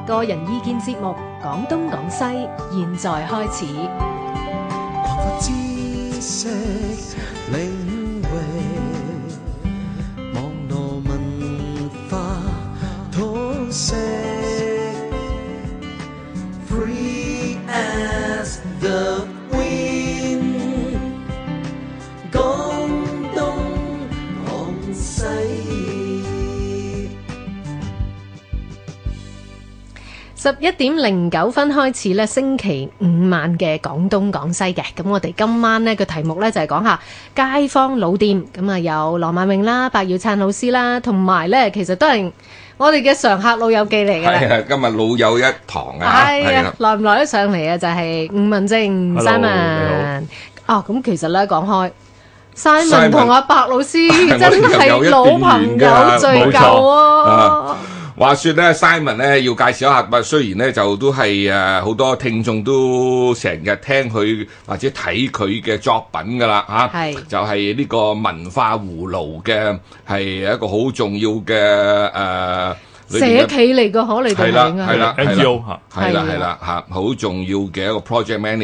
個人意見節目《講東講西》，現在開始。 擴闊知識領域，網絡文化通識 ，Free as the wind， 講東講西。 11:09開始咧，星期五晚嘅廣東廣西嘅。咁我哋今晚呢個題目呢，就係講下街坊老店。咁啊有羅曼穎啦、白耀燦老師啦，同埋呢其實都係我哋嘅常客老友記嚟嘅。 係啊，今日老友一堂啊。 係啊，來唔來得上嚟啊？就係吳文正 Simon。哦，咁其實呢講開。Simon 同阿白老師真係老朋友聚舊啊！ 話說咧 ，Simon 咧要介紹一下，雖然咧就都係好多聽眾都成日聽佢或者睇佢嘅作品噶啦嚇，就係呢個文化葫蘆嘅係一個好重要嘅社企嚟嘅，可你哋係啦係啦 NGO 嚇， 係啦嚇，好重要嘅一個 project manager。